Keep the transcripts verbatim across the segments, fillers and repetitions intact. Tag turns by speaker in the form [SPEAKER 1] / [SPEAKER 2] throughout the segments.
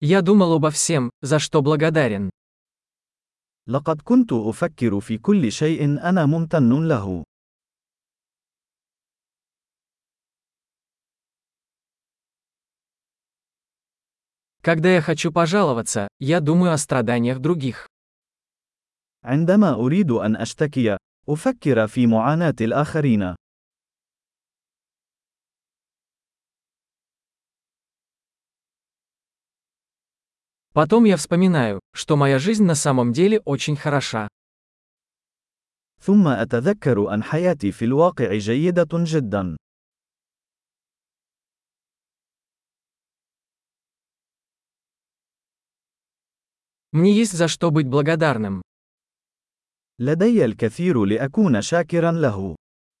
[SPEAKER 1] Я думал обо всем, за что благодарен.
[SPEAKER 2] لقد كنت أفكر في كل شيء أنا ممتن له.
[SPEAKER 1] Когда я хочу пожаловаться, я думаю о страданиях других.
[SPEAKER 2] عندما أريد أن أشتكي، أفكر في معاناة الآخرين.
[SPEAKER 1] Потом я вспоминаю, что моя жизнь на самом деле очень хороша.
[SPEAKER 2] ثم أتذكر أن حياتي في الواقع جيدة جدا.
[SPEAKER 1] Мне есть за что быть благодарным.
[SPEAKER 2] لدي الكثير لأكون شاكرا له.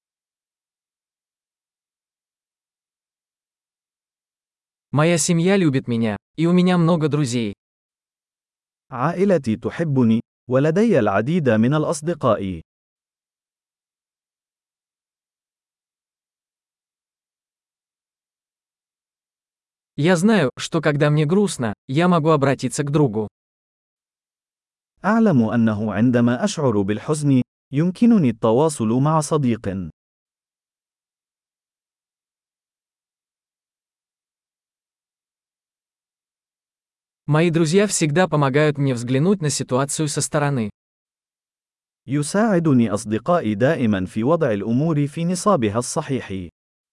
[SPEAKER 1] Моя семья любит меня, и у меня много друзей.
[SPEAKER 2] عائلتي تحبني، ولدي العديد من الأصدقاء.
[SPEAKER 1] Я знаю, что когда мне грустно, я могу обратиться к другу.
[SPEAKER 2] أعلم أنه عندما أشعر بالحزن، يمكنني التواصل مع صديق.
[SPEAKER 1] Мои друзья всегда помогают мне взглянуть на ситуацию со стороны.
[SPEAKER 2] يساعدني أصدقائي دائما في وضع الأمور في نصابها الصحيح.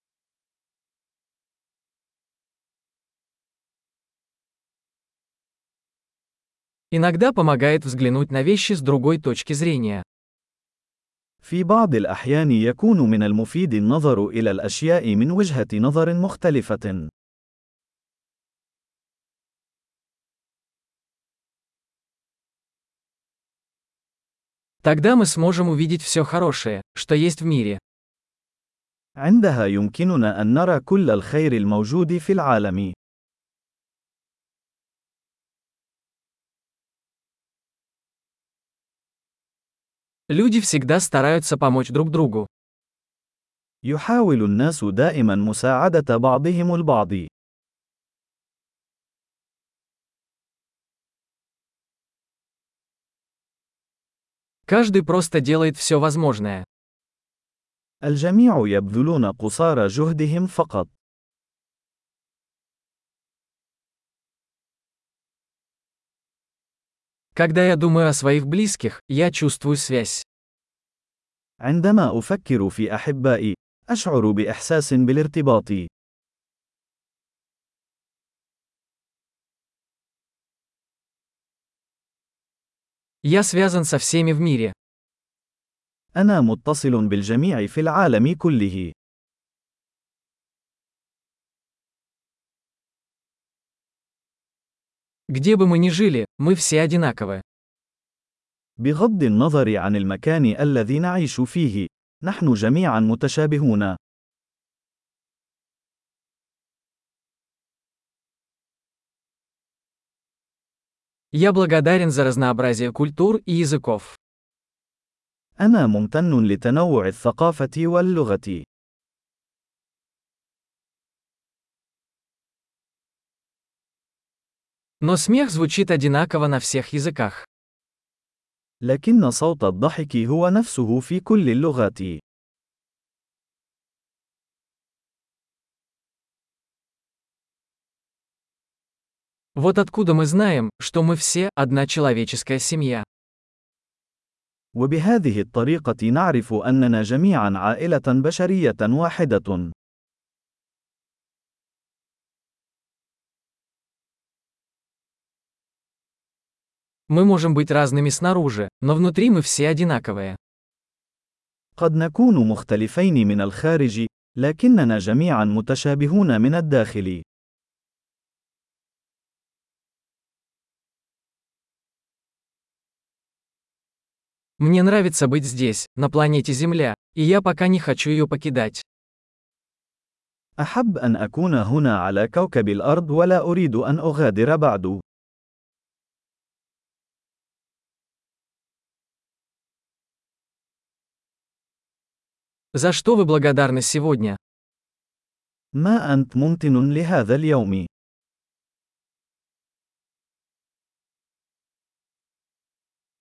[SPEAKER 1] Иногда помогает взглянуть на вещи с другой точки зрения.
[SPEAKER 2] في بعض الأحيان يكون من المفيد النظر إلى الأشياء من وجهة نظر مختلفة.
[SPEAKER 1] Тогда мы сможем увидеть все хорошее, что есть в мире.
[SPEAKER 2] عندها يمكننا أن نرى كل الخير الموجود في العالم.
[SPEAKER 1] Люди всегда стараются помочь друг другу.
[SPEAKER 2] يحاول الناس دائما مساعدة بعضهم البعض.
[SPEAKER 1] Каждый просто делает все возможное.
[SPEAKER 2] الجميع يبذلون قصارى جهدهم فقط.
[SPEAKER 1] Когда я думаю о своих близких, я чувствую связь.
[SPEAKER 2] عندما أفكر في أحبائي، أشعر بإحساس بالارتباط.
[SPEAKER 1] Я связан со всеми в мире.
[SPEAKER 2] أنا متصل بالجميع في العالم كله.
[SPEAKER 1] Где бы мы ни жили, мы все одинаковы.
[SPEAKER 2] بغض النظر عن المكان الذي نعيش فيه، نحن جميعا متشابهون.
[SPEAKER 1] Я благодарен за разнообразие культур и языков.
[SPEAKER 2] أنا ممتن لتنوع الثقافة واللغة.
[SPEAKER 1] Но смех звучит одинаково на всех языках.
[SPEAKER 2] لكن صوت الضحك هو نفسه في كل اللغات.
[SPEAKER 1] Вот откуда мы знаем, что мы все одна человеческая семья.
[SPEAKER 2] وبهذه الطريقة نعرف أننا جميعا عائلة بشرية واحدة.
[SPEAKER 1] Мы можем быть разными снаружи, но внутри мы все одинаковые.
[SPEAKER 2] قد نكون مختلفين من الخارج، لكننا جميعا متشابهون من الداخل.
[SPEAKER 1] Мне нравится быть здесь, на планете Земля, и я пока не хочу ее покидать.
[SPEAKER 2] أحب أن أكون هنا على كوكب الأرض ولا أريد أن أغادر بعد.
[SPEAKER 1] За что вы благодарны сегодня?
[SPEAKER 2] ما أنت ممتن لهذا اليوم؟